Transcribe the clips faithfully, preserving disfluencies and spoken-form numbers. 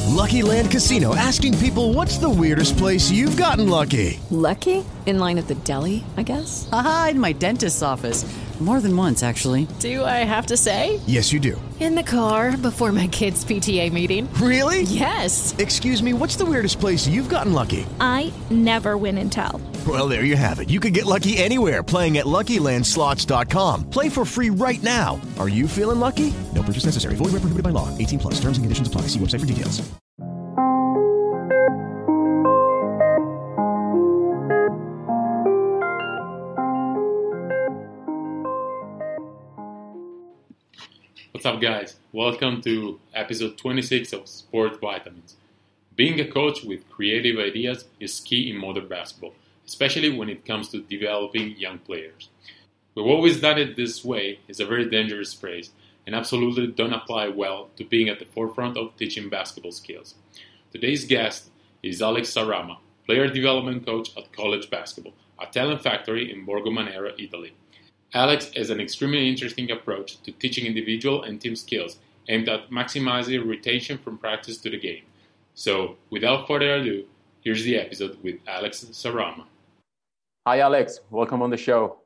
Lucky Land Casino, asking people, what's the weirdest place you've gotten lucky? Lucky? In line at the deli, I guess? Aha, in my dentist's office. More than once, actually. Do I have to say? Yes, you do. In the car before my kids' P T A meeting. Really? Yes. Excuse me, what's the weirdest place you've gotten lucky? I never win and tell. Well, there you have it. You can get lucky anywhere, playing at Lucky Land Slots dot com. Play for free right now. Are you feeling lucky? No purchase necessary. Void where prohibited by law. eighteen plus. Terms and conditions apply. See website for details. What's up, guys? Welcome to episode twenty-six of Sport Vitamins. Being a coach with creative ideas is key in modern basketball, especially when it comes to developing young players. We've always done it this way is a very dangerous phrase and absolutely don't apply well to being at the forefront of teaching basketball skills. Today's guest is Alex Sarama, player development coach at College Basketball, a talent factory in Borgo Manera, Italy. Alex has an extremely interesting approach to teaching individual and team skills aimed at maximizing retention from practice to the game. So, without further ado, here's the episode with Alex Sarama. Hi, Alex. Welcome on the show.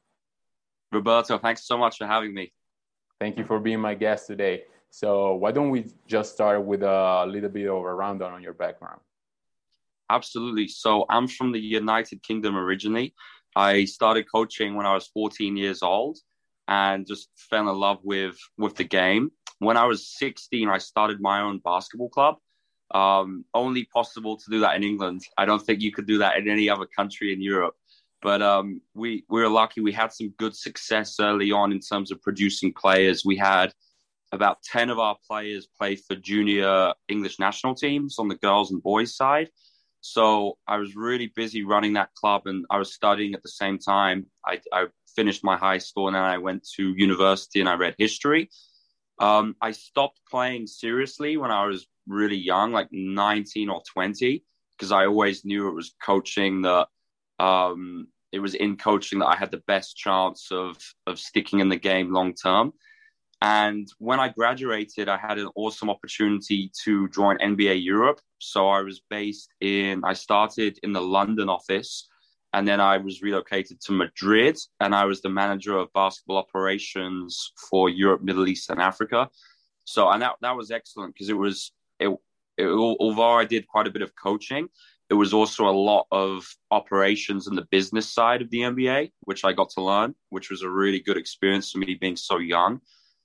Roberto, thanks so much for having me. Thank you for being my guest today. So why don't we just start with a little bit of a rundown on your background? Absolutely. So I'm from the United Kingdom originally. I started coaching when I was fourteen years old and just fell in love with, with the game. When I was sixteen, I started my own basketball club. Um, only possible to do that in England. I don't think you could do that in any other country in Europe. But um, we, we were lucky. We had some good success early on in terms of producing players. We had about ten of our players play for junior English national teams on the girls and boys side. So I was really busy running that club and I was studying at the same time. I, I finished my high school and then I went to university and I read history. Um, I stopped playing seriously when I was really young, like nineteen or twenty, because I always knew it was coaching that um, it was in coaching that I had the best chance of, of sticking in the game long term. And when I graduated, I had an awesome opportunity to join N B A Europe. So I was based in, I started in the London office, and then I was relocated to Madrid, and I was the manager of basketball operations for Europe, Middle East, and Africa. So, and that, that was excellent because it was, it, it, although I did quite a bit of coaching, it was also a lot of operations and the business side of the N B A, which I got to learn, which was a really good experience for me being so young.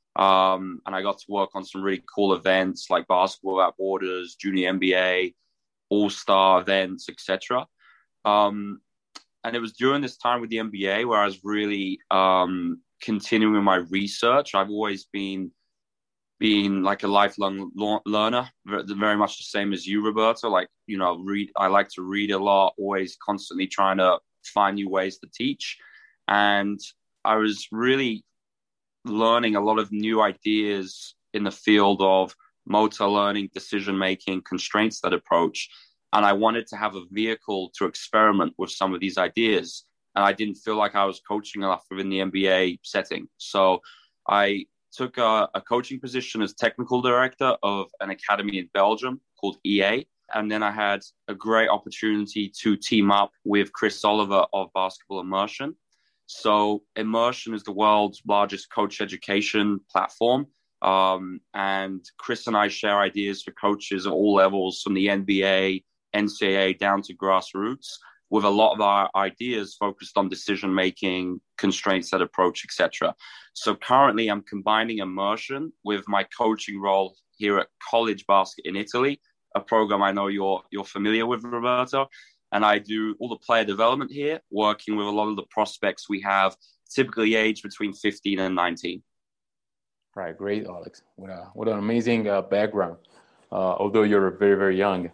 Um, and I got to work on some really cool events like Basketball Without Borders, Junior N B A, All-Star events, et cetera. Um, and it was during this time with the N B A where I was really um, continuing my research. I've always been being like a lifelong learner, very much the same as you, Roberto. Like, you know, read. I like to read a lot, always constantly trying to find new ways to teach. And I was really learning a lot of new ideas in the field of motor learning, decision-making, constraints-led approach. And I wanted to have a vehicle to experiment with some of these ideas. And I didn't feel like I was coaching enough within the N B A setting. So I took a, a coaching position as technical director of an academy in Belgium called E A. And then I had a great opportunity to team up with Chris Oliver of Basketball Immersion. So Immersion is the world's largest coach education platform. Um, and Chris and I share ideas for coaches at all levels, from the N B A, N C A A down to grassroots, with a lot of our ideas focused on decision-making, constraints-led approach, et cetera. So currently I'm combining Immersion with my coaching role here at College Basket in Italy, a program I know you're you're familiar with, Roberto. And I do all the player development here, working with a lot of the prospects we have, typically aged between fifteen and nineteen. Right, great, Alex. What, a, what an amazing uh, background, uh, although you're very, very young.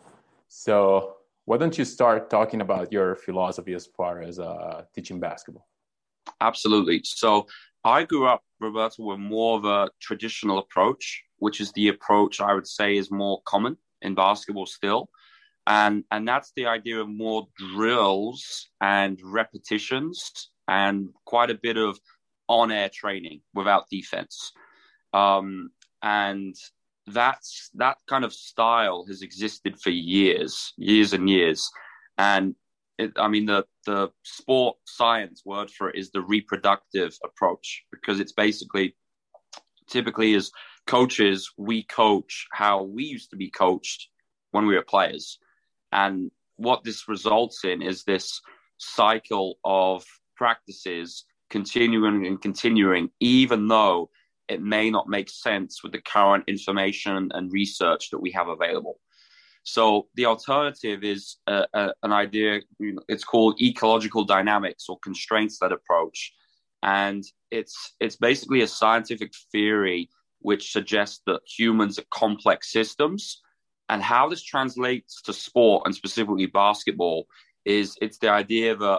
So why don't you start talking about your philosophy as far as uh, teaching basketball? Absolutely. So I grew up, Roberto, with more of a traditional approach, which is the approach I would say is more common in basketball still. And and that's the idea of more drills and repetitions and quite a bit of on-air training without defense. Um, and that's that kind of style has existed for years, years and years. And it, I mean, the, the sport science word for it is the reproductive approach, because it's basically, typically as coaches, we coach how we used to be coached when we were players. And what this results in is this cycle of practices continuing and continuing, even though it may not make sense with the current information and research that we have available. So the alternative is uh, uh, an idea, it's called ecological dynamics or constraints-led approach. And it's it's basically a scientific theory which suggests that humans are complex systems. And how this translates to sport, and specifically basketball, is it's the idea that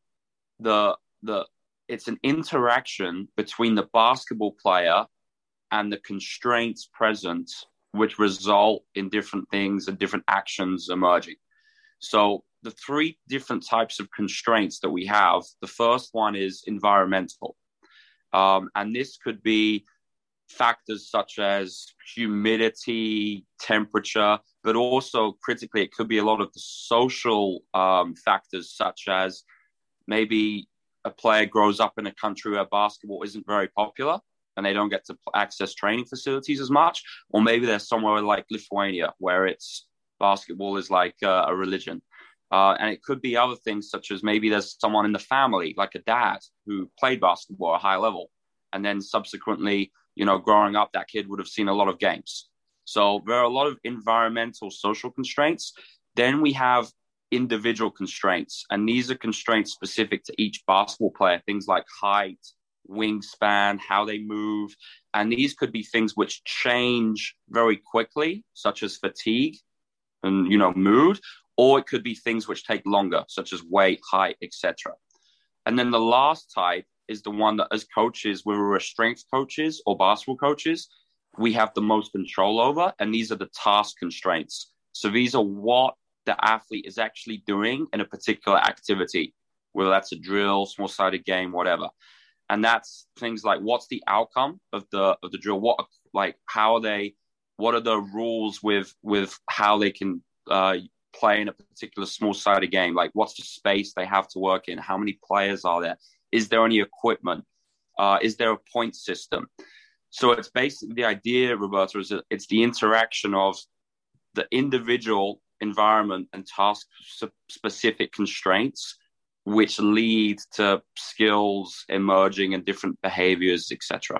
the the it's an interaction between the basketball player and the constraints present, which result in different things and different actions emerging. So the three different types of constraints that we have, the first one is environmental. Um, and this could be factors such as humidity, temperature, but also critically, it could be a lot of the social um, factors, such as maybe a player grows up in a country where basketball isn't very popular and they don't get to access training facilities as much. Or maybe there's somewhere like Lithuania where it's basketball is like uh, a religion. Uh, and it could be other things, such as maybe there's someone in the family, like a dad, who played basketball at a high level. And then subsequently, you know, growing up, that kid would have seen a lot of games. So there are a lot of environmental, social constraints. Then we have individual constraints. And these are constraints specific to each basketball player, things like height, wingspan, how they move. And these could be things which change very quickly, such as fatigue and, you know, mood. Or it could be things which take longer, such as weight, height, et cetera. And then the last type is the one that as coaches, whether we're strength coaches or basketball coaches, we have the most control over. And these are the task constraints. So these are what the athlete is actually doing in a particular activity, whether that's a drill, small-sided game, whatever. And that's things like, what's the outcome of the of the drill? What, like, how are they, what are the rules with, with how they can uh, play in a particular small-sided game? Like, what's the space they have to work in? How many players are there? Is there any equipment? Uh, is there a point system? So it's basically the idea, Roberto, is that it's the interaction of the individual environment and task-specific constraints, which lead to skills emerging and different behaviors, et cetera.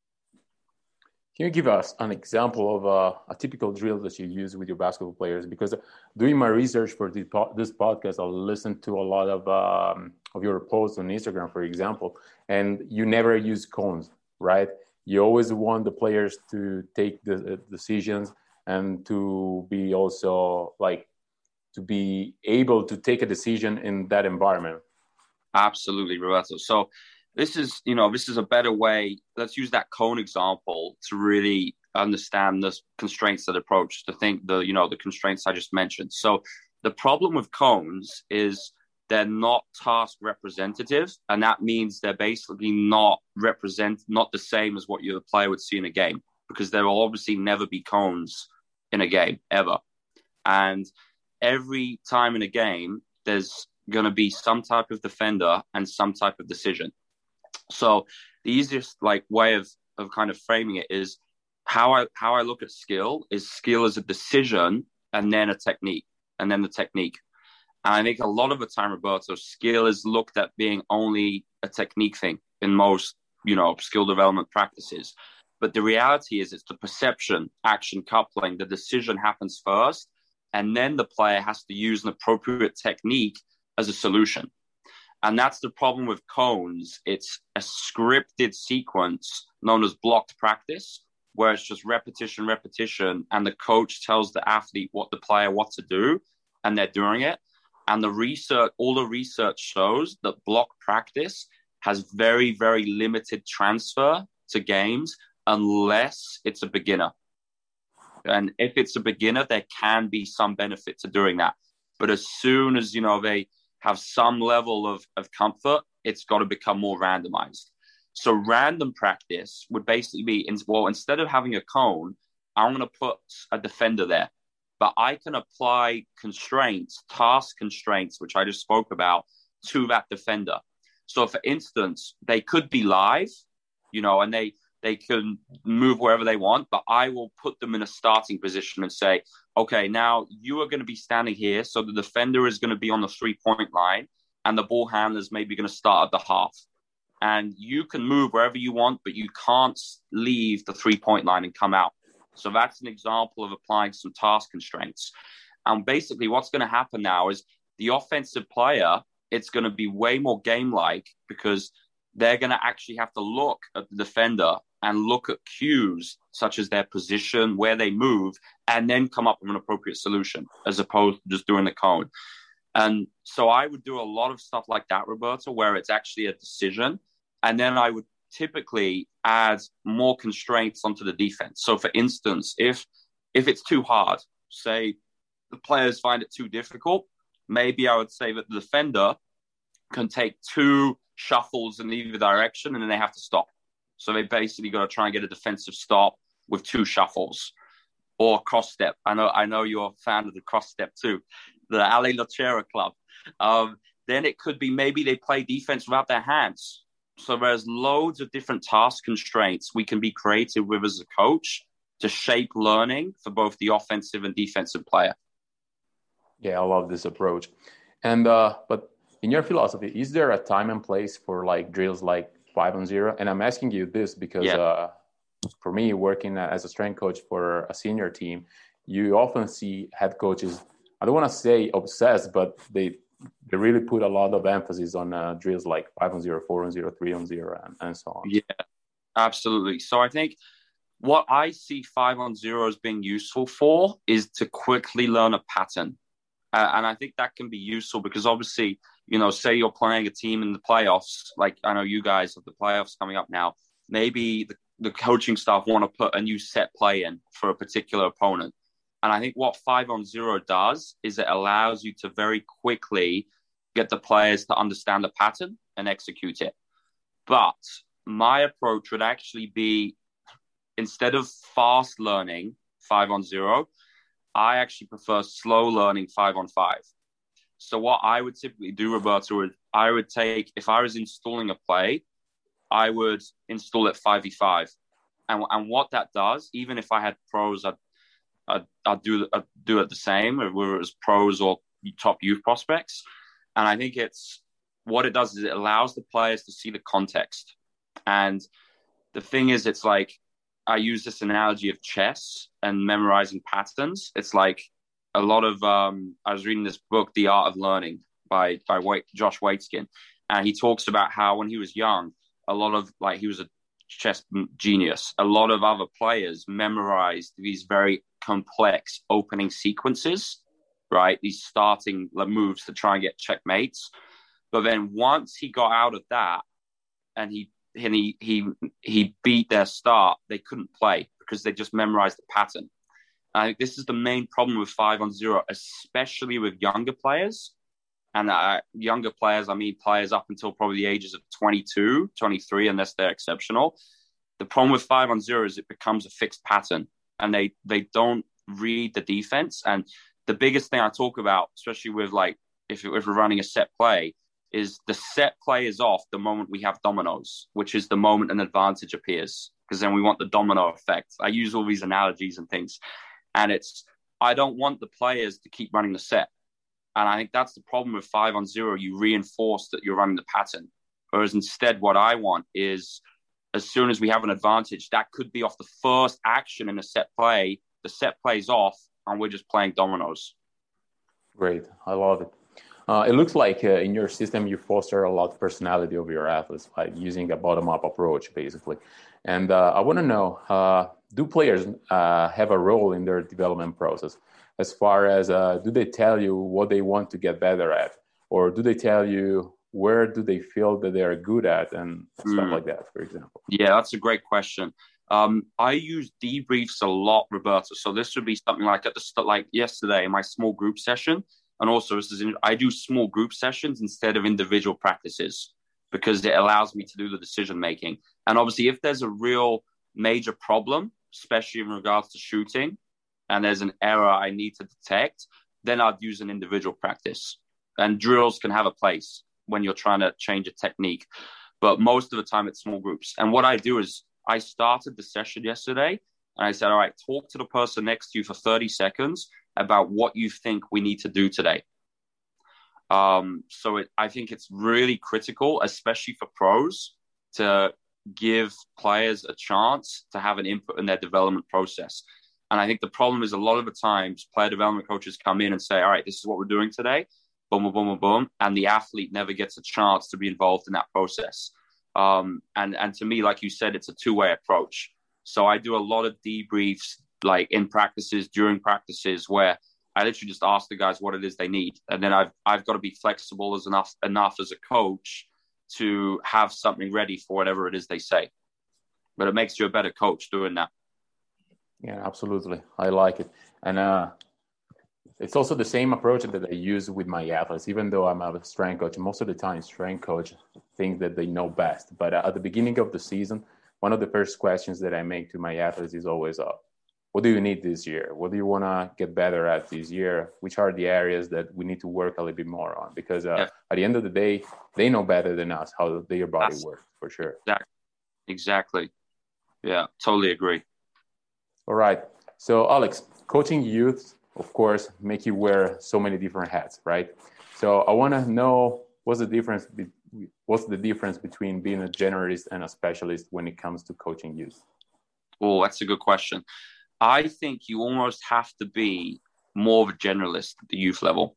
Can you give us an example of a, a typical drill that you use with your basketball players? Because doing my research for this, this podcast, I listened to a lot of um, of your posts on Instagram, for example, and you never use cones, right? You always want the players to take the decisions and to be also like to be able to take a decision in that environment. Absolutely, Roberto. So this is, you know, this is a better way. Let's use that cone example to really understand the constraints that approach, to think the, you know, the constraints I just mentioned. So the problem with cones is they're not task representative. And that means they're basically not represent, not the same as what your player would see in a game, because there will obviously never be cones in a game ever. And every time in a game, there's going to be some type of defender and some type of decision. So the easiest like way of, of kind of framing it is how I how I look at skill is skill as a decision and then a technique and then the technique. And I think a lot of the time, Roberto, skill is looked at being only a technique thing in most, you know, skill development practices. But the reality is it's the perception, action coupling, the decision happens first, and then the player has to use an appropriate technique as a solution. And that's the problem with cones. It's a scripted sequence known as blocked practice, where it's just repetition, repetition, and the coach tells the athlete what the player what to do, and they're doing it. And the research, all the research shows that block practice has very, very limited transfer to games unless it's a beginner. And if it's a beginner, there can be some benefit to doing that. But as soon as, you know, they have some level of, of comfort, it's got to become more randomized. So random practice would basically be, well, instead of having a cone, I'm going to put a defender there. But I can apply constraints, task constraints, which I just spoke about, to that defender. So, for instance, they could be live, you know, and they they can move wherever they want, but I will put them in a starting position and say, okay, now you are going to be standing here. So the defender is going to be on the three-point line, and the ball handler is maybe going to start at the half. And you can move wherever you want, but you can't leave the three-point line and come out. So that's an example of applying some task constraints. And basically what's going to happen now is the offensive player, it's going to be way more game-like because they're going to actually have to look at the defender and look at cues such as their position, where they move, and then come up with an appropriate solution as opposed to just doing the cone. And so I would do a lot of stuff like that, Roberto, where it's actually a decision. And then I would typically add more constraints onto the defense. So for instance, if if it's too hard, say the players find it too difficult, maybe I would say that the defender can take two shuffles in either direction and then they have to stop. So they basically got to try and get a defensive stop with two shuffles or cross step. I know I know you're a fan of the cross step too, the Ale Locera Club. Um, then it could be maybe they play defense without their hands. So there's loads of different task constraints we can be creative with as a coach to shape learning for both the offensive and defensive player. Yeah, I love this approach. And uh, but in your philosophy, is there a time and place for like drills like five on zero? And I'm asking you this because yeah. uh, for me, working as a strength coach for a senior team, you often see head coaches, I don't want to say obsessed, but they they really put a lot of emphasis on uh, drills like five on zero, four on zero, three on zero, and, and so on. Yeah, absolutely. So I think what I see five on zero as being useful for is to quickly learn a pattern. Uh, and I think that can be useful because obviously, you know, say you're playing a team in the playoffs, like I know you guys have the playoffs coming up now, maybe the, the coaching staff want to put a new set play in for a particular opponent. And I think what five on zero does is it allows you to very quickly get the players to understand the pattern and execute it. But my approach would actually be, instead of fast learning five on zero, I actually prefer slow learning five on five. So what I would typically do, Roberto, is I would take, if I was installing a play, I would install it five v five. And, and what that does, even if I had pros, I'd, I'd, I'd, do, I'd do it the same, whether it was pros or top youth prospects. And I think it's, what it does is it allows the players to see the context. And the thing is, it's like, I use this analogy of chess and memorizing patterns. It's like a lot of, um, I was reading this book, The Art of Learning by, by Wait, Josh Waitzkin. And he talks about how when he was young, a lot of like, he was a chess genius. A lot of other players memorized these very complex opening sequences, right? These starting moves to try and get checkmates. But then once he got out of that and he and he he he beat their start, they couldn't play because they just memorized the pattern. I think this is the main problem with five on zero, especially with younger players. And uh, younger players, I mean players up until probably the ages of twenty-two, twenty-three, unless they're exceptional. The problem with five on zero is it becomes a fixed pattern and they they don't read the defense. And the biggest thing I talk about, especially with like if, if we're running a set play, is the set play is off the moment we have dominoes, which is the moment an advantage appears, because then we want the domino effect. I use all these analogies and things. And it's, I don't want the players to keep running the set. And I think that's the problem with five on zero. You reinforce that you're running the pattern. Whereas instead, what I want is as soon as we have an advantage, that could be off the first action in a set play. The set plays off and we're just playing dominoes. Great. I love it. Uh, it looks like uh, in your system, you foster a lot of personality of your athletes by using a bottom-up approach, basically. And uh, I want to know, uh, do players uh, have a role in their development process? As far as, uh, do they tell you what they want to get better at? Or do they tell you where do they feel that they're good at and stuff mm. like that, for example? Yeah, that's a great question. Um, I use debriefs a lot, Roberto. So this would be something like at the start, like yesterday, in my small group session. And also, this is in, I do small group sessions instead of individual practices because it allows me to do the decision making. And obviously, if there's a real major problem especially in regards to shooting, and there's an error I need to detect, then I'd use an individual practice. And drills can have a place when you're trying to change a technique. But most of the time it's small groups. And what I do is I started the session yesterday and I said, all right, talk to the person next to you for thirty seconds about what you think we need to do today. Um, so it, I think it's really critical, especially for pros, to give players a chance to have an input in their development process. And I think the problem is a lot of the times player development coaches come in and say, all right, this is what we're doing today. Boom, boom, boom, boom, boom. And the athlete never gets a chance to be involved in that process. Um, and, and to me, like you said, it's a two-way approach. So I do a lot of debriefs, like in practices, during practices, where I literally just ask the guys what it is they need. And then I've, I've got to be flexible as enough, enough as a coach to have something ready for whatever it is they say. But it makes you a better coach doing that. Yeah, absolutely. I like it. And uh, it's also the same approach that I use with my athletes. Even though I'm a strength coach, most of the time strength coach think that they know best. But at the beginning of the season, one of the first questions that I make to my athletes is always, uh, what do you need this year? What do you want to get better at this year? Which are the areas that we need to work a little bit more on? Because uh, yeah. at the end of the day, they know better than us how their body That's, works, for sure. Exactly. exactly. Yeah, totally agree. All right. So, Alex, coaching youth, of course, make you wear so many different hats, right? So I want to know what's the difference be- what's the difference between being a generalist and a specialist when it comes to coaching youth? Oh, that's a good question. I think you almost have to be more of a generalist at the youth level.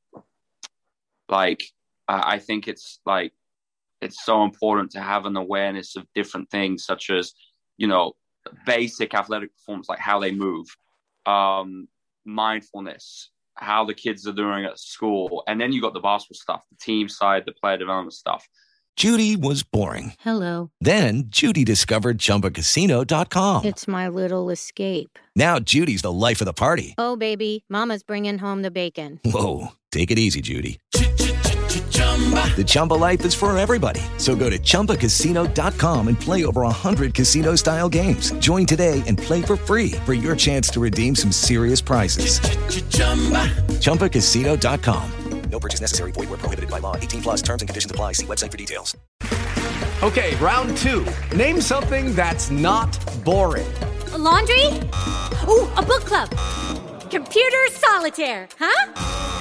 Like, I think it's like, it's so important to have an awareness of different things, such as, you know, basic athletic performance, like how they move, um, mindfulness, how the kids are doing at school. And then you got the basketball stuff, the team side, the player development stuff. Judy was boring. Hello. Then Judy discovered Chumba Casino dot com. It's my little escape. Now Judy's the life of the party. Oh, baby, mama's bringing home the bacon. Whoa, take it easy, Judy. The Chumba life is for everybody. So go to Chumba Casino dot com and play over one hundred casino-style games. Join today and play for free for your chance to redeem some serious prizes. Chumba Casino dot com. No purchase necessary. Void where prohibited by law. eighteen plus terms and conditions apply. See website for details. Okay, round two. Name something that's not boring. A laundry? Ooh, a book club. Computer solitaire, huh?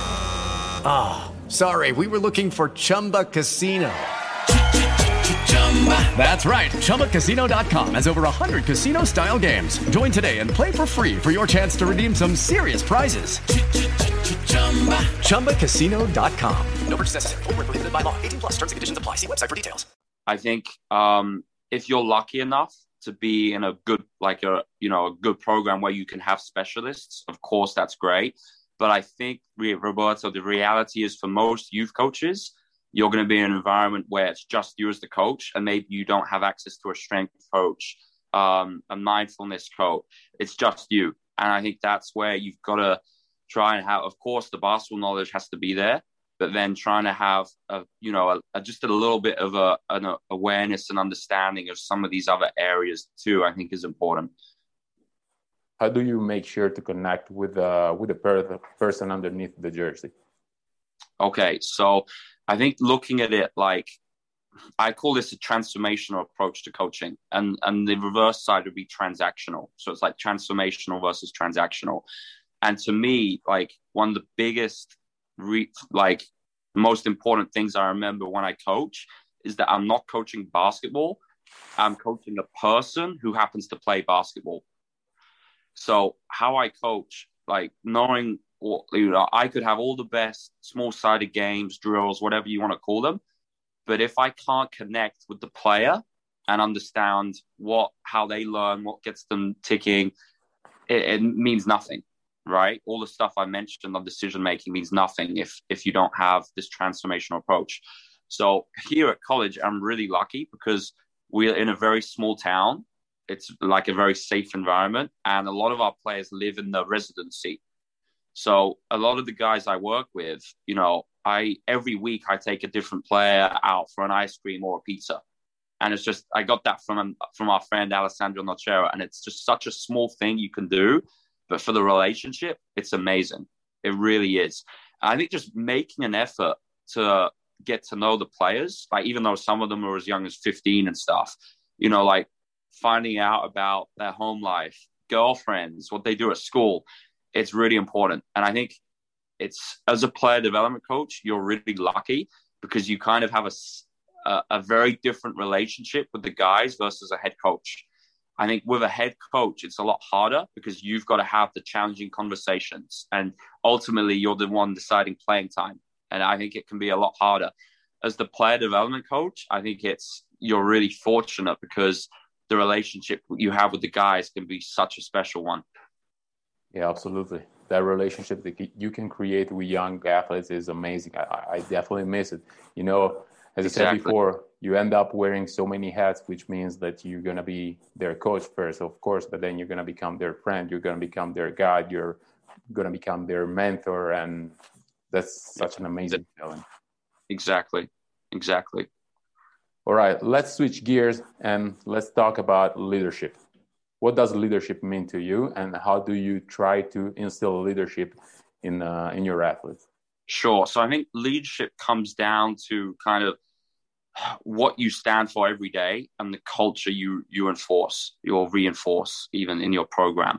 Ah, oh, sorry. We were looking for Chumba Casino. That's right. Chumba Casino dot com has over one hundred casino-style games. Join today and play for free for your chance to redeem some serious prizes. Chumba Casino dot com. No purchase necessary. Void where prohibited by law. eighteen plus terms and conditions apply. See website for details. I think um, if you're lucky enough to be in a good, like a, you know, a good program where you can have specialists, of course, that's great. But I think, Roberto, the reality is for most youth coaches, you're going to be in an environment where it's just you as the coach, and maybe you don't have access to a strength coach, um, a mindfulness coach. It's just you. And I think that's where you've got to try and have, of course, the basketball knowledge has to be there, but then trying to have, a, you know, a, a, just a little bit of a, an awareness and understanding of some of these other areas too, I think is important. How do you make sure to connect with uh, with the per- person underneath the jersey? Okay, so I think looking at it like, I call this a transformational approach to coaching, and, and the reverse side would be transactional. So it's like transformational versus transactional. And to me, like one of the biggest, re- like most important things I remember when I coach is that I'm not coaching basketball. I'm coaching a person who happens to play basketball. So how I coach, like knowing, you know, I could have all the best small-sided games, drills, whatever you want to call them. But if I can't connect with the player and understand what, how they learn, what gets them ticking, it, it means nothing, right? All the stuff I mentioned on decision-making means nothing if, if you don't have this transformational approach. So here at college, I'm really lucky because we're in a very small town. It's like a very safe environment. And a lot of our players live in the residency. So a lot of the guys I work with, you know, I every week I take a different player out for an ice cream or a pizza. And it's just, I got that from from our friend Alessandro Nocera, and it's just such a small thing you can do, but for the relationship, it's amazing. It really is. I think just making an effort to get to know the players, like even though some of them are as young as fifteen and stuff, you know, like finding out about their home life, girlfriends, what they do at school, it's really important. And I think it's, as a player development coach, you're really lucky because you kind of have a, a, a very different relationship with the guys versus a head coach. I think with a head coach, it's a lot harder because you've got to have the challenging conversations, and ultimately you're the one deciding playing time. And I think it can be a lot harder. As the player development coach, I think it's, you're really fortunate because the relationship you have with the guys can be such a special one. Yeah, absolutely. That relationship that you can create with young athletes is amazing. I, I definitely miss it. You know, as exactly. I said before, you end up wearing so many hats, which means that you're going to be their coach first, of course, but then you're going to become their friend. You're going to become their guide. You're going to become their mentor. And that's such an amazing feeling. Exactly. Exactly. All right, let's switch gears and let's talk about leadership. What does leadership mean to you, and how do you try to instill leadership in uh, in your athletes? Sure. So I think leadership comes down to kind of what you stand for every day and the culture you you enforce, or reinforce even in your program.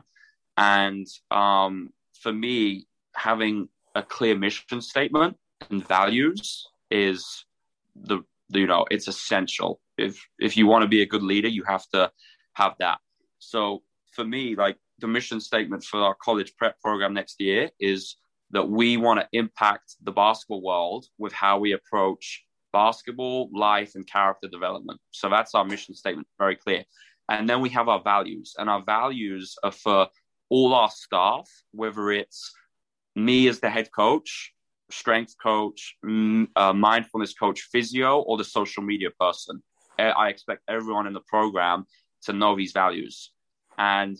And um, for me, having a clear mission statement and values is the, the you know, it's essential. If if you want to be a good leader, you have to have that. So for me, like the mission statement for our college prep program next year is that we want to impact the basketball world with how we approach basketball, life, and character development. So that's our mission statement, very clear. And then we have our values, and our values are for all our staff, whether it's me as the head coach, strength coach, uh, mindfulness coach, physio, or the social media person. I expect everyone in the program to know these values. And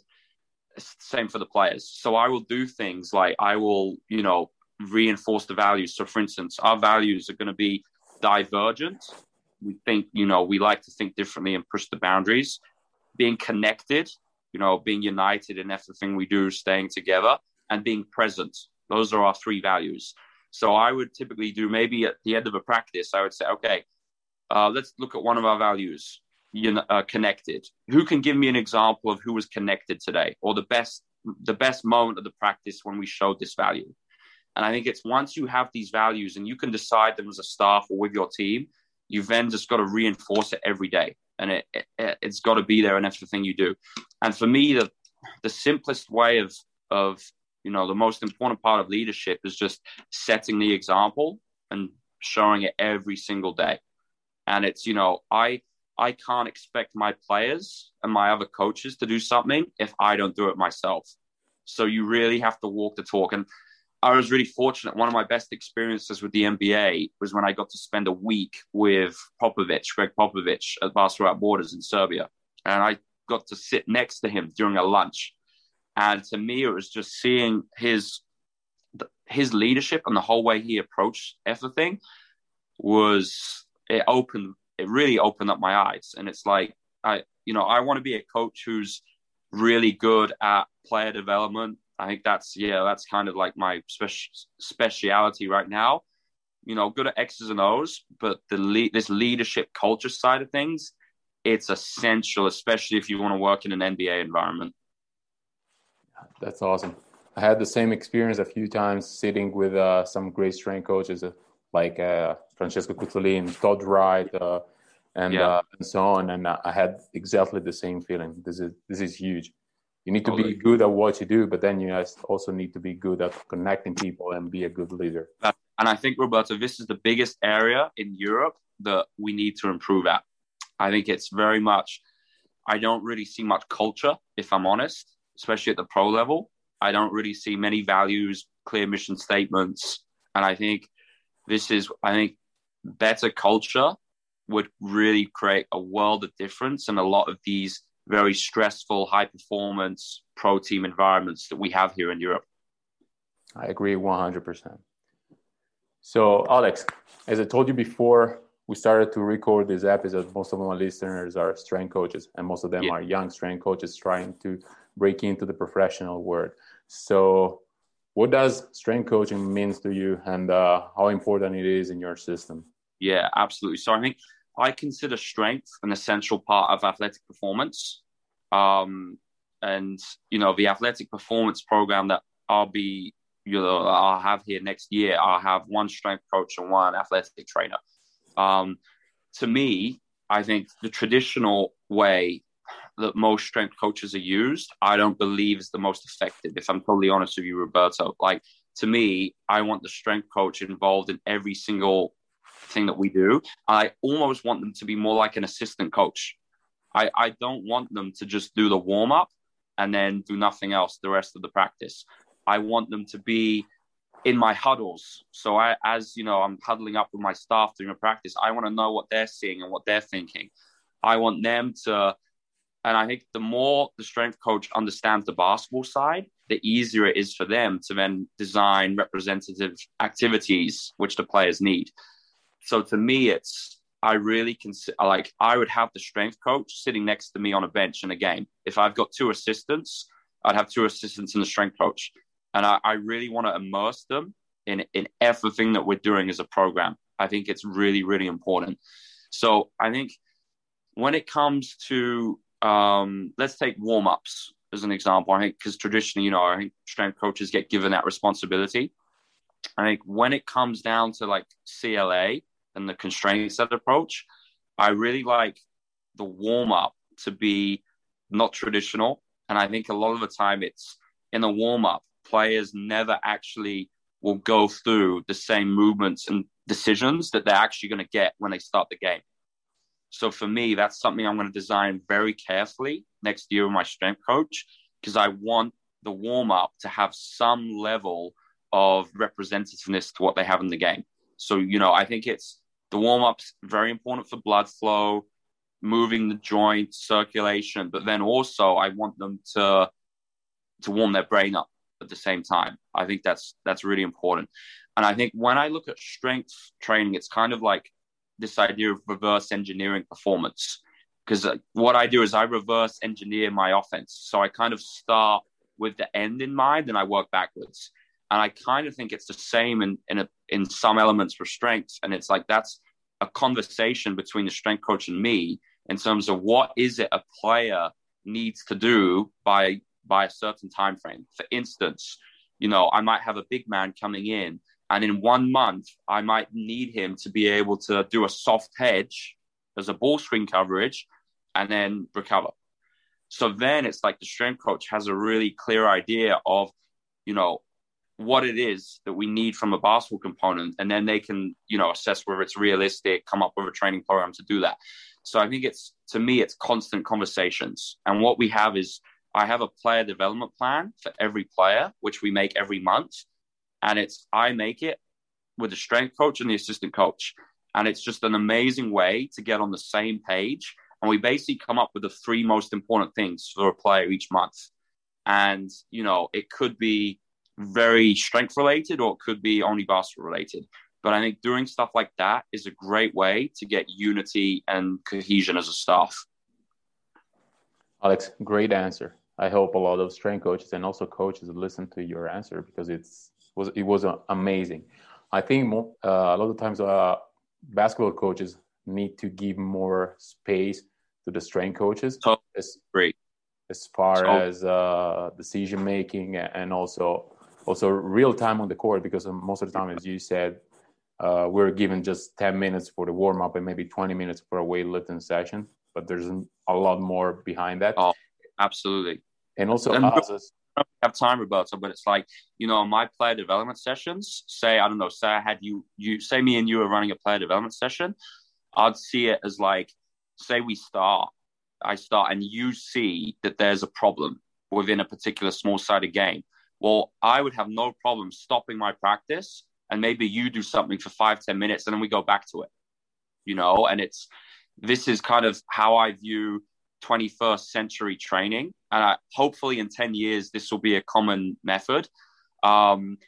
same for the players. So I will do things like I will, you know, reinforce the values. So for instance, our values are going to be divergent. We think, you know, we like to think differently and push the boundaries. Being connected, you know, being united in everything we do, staying together, and being present. Those are our three values. So I would typically do, maybe at the end of a practice, I would say, okay, uh, let's look at one of our values. You know, uh, connected. Who can give me an example of who was connected today, or the best, the best moment of the practice when we showed this value? And I think it's once you have these values and you can decide them as a staff or with your team, you've then just got to reinforce it every day, and it, it it's got to be there in everything you do. And for me, the the simplest way of of you know the most important part of leadership is just setting the example and showing it every single day. And it's you know I. I can't expect my players and my other coaches to do something if I don't do it myself. So you really have to walk the talk. And I was really fortunate. One of my best experiences with the N B A was when I got to spend a week with Popovich, Greg Popovich at Basketball Without Borders in Serbia. And I got to sit next to him during a lunch. And to me, it was just seeing his, his leadership and the whole way he approached everything was, it opened it really opened up my eyes. And it's like, I, you know, I want to be a coach who's really good at player development. I think that's, yeah, that's kind of like my speci- speciality right now, you know, good at X's and O's, but the le- this leadership culture side of things, it's essential, especially if you want to work in an N B A environment. That's awesome. I had the same experience a few times sitting with uh, some great strength coaches, uh, like uh, Francesco Cuzzolin, Todd Wright, uh, and, yeah. uh, and so on. And I had exactly the same feeling. This is this is huge. You need to totally. be good at what you do, but then you also need to be good at connecting people and be a good leader. And I think, Roberto, this is the biggest area in Europe that we need to improve at. I think it's very much, I don't really see much culture, if I'm honest, especially at the pro level. I don't really see many values, clear mission statements. And I think this is, I think, better culture would really create a world of difference in a lot of these very stressful, high-performance pro team environments that we have here in Europe. I agree one hundred percent. So, Alex, as I told you before, we started to record this episode, most of my listeners are strength coaches, and most of them yeah. are young strength coaches trying to break into the professional world. So what does strength coaching means to you, and uh, how important it is in your system? Yeah, absolutely. So I think I consider strength an essential part of athletic performance. Um, and, you know, the athletic performance program that I'll be, you know, I'll have here next year, I'll have one strength coach and one athletic trainer. Um, to me, I think the traditional way that most strength coaches are used, I don't believe is the most effective, if I'm totally honest with you, Roberto. Like, to me, I want the strength coach involved in every single thing that we do. I almost want them to be more like an assistant coach. I, I don't want them to just do the warm-up and then do nothing else the rest of the practice. I want them to be in my huddles. So I, as you know, I'm huddling up with my staff during a practice. I want to know what they're seeing and what they're thinking. I want them to, and I think the more the strength coach understands the basketball side, the easier it is for them to then design representative activities which the players need. So to me, it's, I really consider, like, I would have the strength coach sitting next to me on a bench in a game. If I've got two assistants, I'd have two assistants and the strength coach. And I, I really want to immerse them in, in everything that we're doing as a program. I think it's really, really important. So I think when it comes to, um, let's take warm-ups as an example. I think because traditionally, you know, I think strength coaches get given that responsibility. I think when it comes down to like C L A and the constraint set approach, I really like the warm-up to be not traditional. And I think a lot of the time it's in the warm-up, players never actually will go through the same movements and decisions that they're actually going to get when they start the game. So for me, that's something I'm going to design very carefully next year with my strength coach, because I want the warm-up to have some level of representativeness to what they have in the game. So, you know, I think it's the warm-up's very important for blood flow, moving the joint, circulation, but then also I want them to to warm their brain up at the same time. I think that's that's really important. And I think when I look at strength training, it's kind of like this idea of reverse engineering performance, because what I do is I reverse engineer my offense. So I kind of start with the end in mind and I work backwards. And I kind of think it's the same in in, a, in some elements for strength. And it's like that's a conversation between the strength coach and me in terms of what is it a player needs to do by by a certain time frame. For instance, you know, I might have a big man coming in, and in one month, I might need him to be able to do a soft hedge as a ball screen coverage and then recover. So then it's like the strength coach has a really clear idea of, you know, what it is that we need from a basketball component. And then they can, you know, assess whether it's realistic, come up with a training program to do that. So I think it's, to me, it's constant conversations. And what we have is, I have a player development plan for every player, which we make every month. And it's, I make it with the strength coach and the assistant coach. And it's just an amazing way to get on the same page. And we basically come up with the three most important things for a player each month. And, you know, it could be very strength related or it could be only basketball related. But I think doing stuff like that is a great way to get unity and cohesion as a staff. Alex, great answer. I hope a lot of strength coaches and also coaches listen to your answer, because it's was it was uh, amazing. I think more, uh, a lot of times uh, basketball coaches need to give more space to the strength coaches. Oh, as, great. As far so, as uh, decision making and also also real time on the court, because most of the time, as you said, uh, we're given just ten minutes for the warm up and maybe twenty minutes for a weightlifting session. But there's a lot more behind that. Oh, absolutely. And also, and us as, I don't have time, Roberto, but it's like, you know, my player development sessions, say, I don't know, say I had you, you say me and you are running a player development session, I'd see it as like, say we start, I start and you see that there's a problem within a particular small-sided game. Well, I would have no problem stopping my practice and maybe you do something for five, ten minutes and then we go back to it, you know, and it's, this is kind of how I view twenty-first century training. And I, hopefully in ten years, this will be a common method. Um,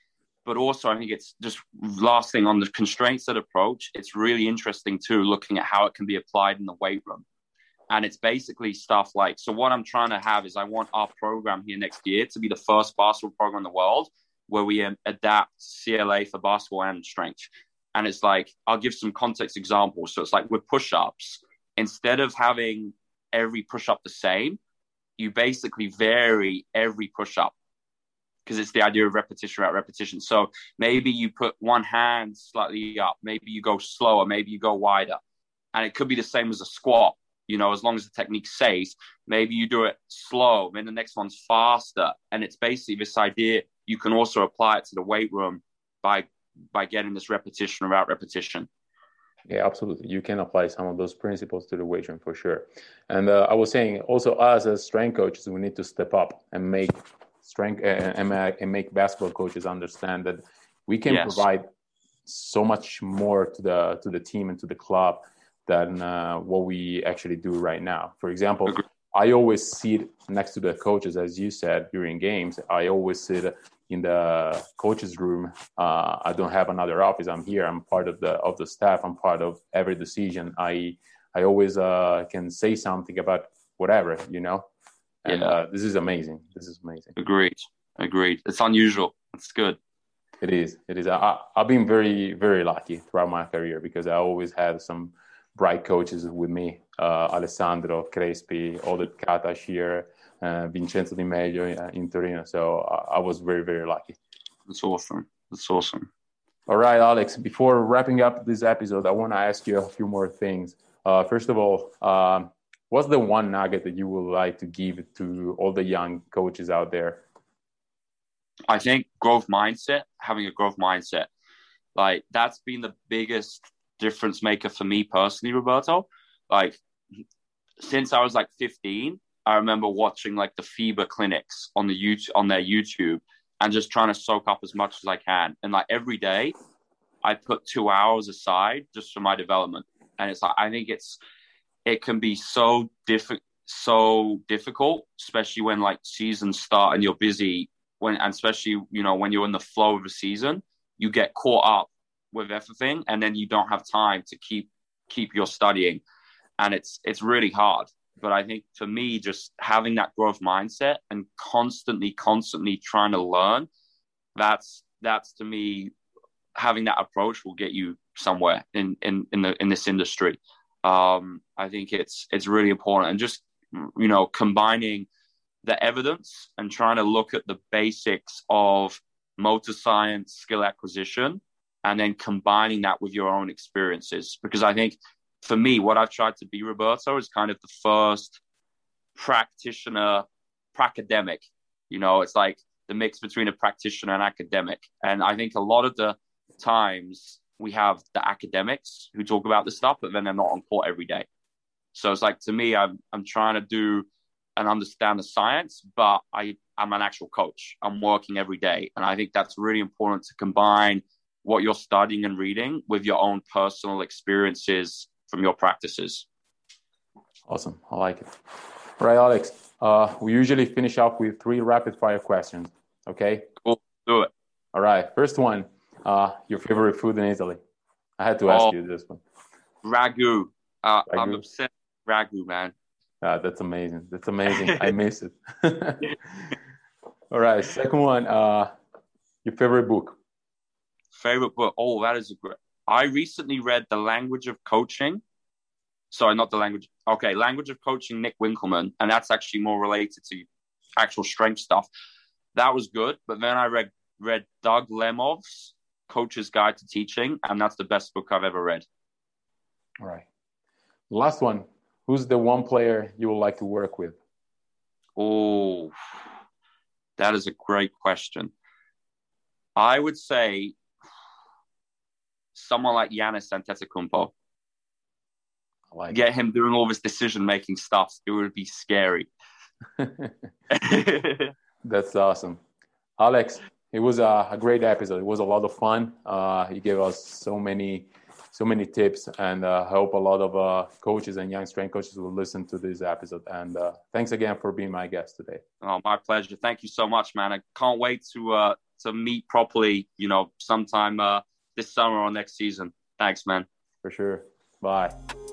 but also I think it's just last thing on the constraints-led approach. It's really interesting too, looking at how it can be applied in the weight room. And it's basically stuff like, so what I'm trying to have is I want our program here next year to be the first basketball program in the world where we um, adapt C L A for basketball and strength. And it's like, I'll give some context examples. So it's like with push-ups, instead of having every push-up the same, you basically vary every push-up because it's the idea of repetition at repetition. So maybe you put one hand slightly up, maybe you go slower, maybe you go wider. And it could be the same as a squat. You know, as long as the technique's safe, maybe you do it slow, then the next one's faster. And it's basically this idea, you can also apply it to the weight room by by getting this repetition without repetition. Yeah, absolutely. You can apply some of those principles to the weight room for sure. And uh, I was saying also us as strength coaches, we need to step up and make strength uh, and, and make basketball coaches understand that we can yes. provide so much more to the to the team and to the club than uh, what we actually do right now. For example, I always sit next to the coaches, as you said, during games. I always sit in the coaches' room. Uh, I don't have another office. I'm here. I'm part of the of the staff. I'm part of every decision. I I always uh, can say something about whatever, you know. And yeah. uh, this is amazing. This is amazing. Agreed. Agreed. It's unusual. It's good. It is. It is. I, I've been very, very lucky throughout my career because I always had some bright coaches with me, uh, Alessandro Crespi, Oded Katash here, uh, Vincenzo Di Meglio in Torino. So I, I was very, very lucky. That's awesome. That's awesome. All right, Alex, before wrapping up this episode, I want to ask you a few more things. Uh, first of all, um, what's the one nugget that you would like to give to all the young coaches out there? I think growth mindset, having a growth mindset. Like, that's been the biggest difference maker for me personally, Roberto. Like, since I was like fifteen, I remember watching like the FIBA clinics on the YouTube, on their YouTube, and just trying to soak up as much as I can. And like every day, I put two hours aside just for my development. And it's like, I think it's it can be so difficult, so difficult, especially when like seasons start and you're busy. When and especially you know when you're in the flow of a season, you get caught up with everything, and then you don't have time to keep keep your studying, and it's it's really hard. But I think for me, just having that growth mindset and constantly, constantly trying to learn, that's that's to me, having that approach will get you somewhere in in in the in this industry. Um, I think it's it's really important, and just you know combining the evidence and trying to look at the basics of motor science, skill acquisition, and then combining that with your own experiences. Because I think for me, what I've tried to be, Roberto, is kind of the first practitioner, pracademic. You know, it's like the mix between a practitioner and academic. And I think a lot of the times we have the academics who talk about this stuff, but then they're not on court every day. So it's like, to me, I'm I'm trying to do and understand the science, but I, I'm an actual coach. I'm working every day. And I think that's really important to combine what you're studying and reading with your own personal experiences from your practices. Awesome. I like it. All right, Alex, uh, we usually finish up with three rapid fire questions. Okay. Cool. Do it. All right. First one, uh, your favorite food in Italy? I had to ask oh, you this one. Ragu. Uh, ragu. I'm obsessed with ragu, man. Uh, that's amazing. That's amazing. I miss it. All right. Second one, uh, your favorite book? Favorite book? Oh, that is a great. I recently read The Language of Coaching. Sorry, not The Language. Okay, Language of Coaching, Nick Winkelman. And that's actually more related to actual strength stuff. That was good. But then I read, read Doug Lemov's Coach's Guide to Teaching. And that's the best book I've ever read. All right. Last one. Who's the one player you would like to work with? Oh, that is a great question. I would say someone like Giannis Antetokounmpo. I like Get it. him doing all this decision-making stuff. It would be scary. That's awesome. Alex, it was a, a great episode. It was a lot of fun. Uh, you gave us so many so many tips, and uh, I hope a lot of uh, coaches and young strength coaches will listen to this episode. And uh, thanks again for being my guest today. Oh, my pleasure. Thank you so much, man. I can't wait to uh, to meet properly, you know, sometime uh, this summer or next season. Thanks, man. For sure. Bye.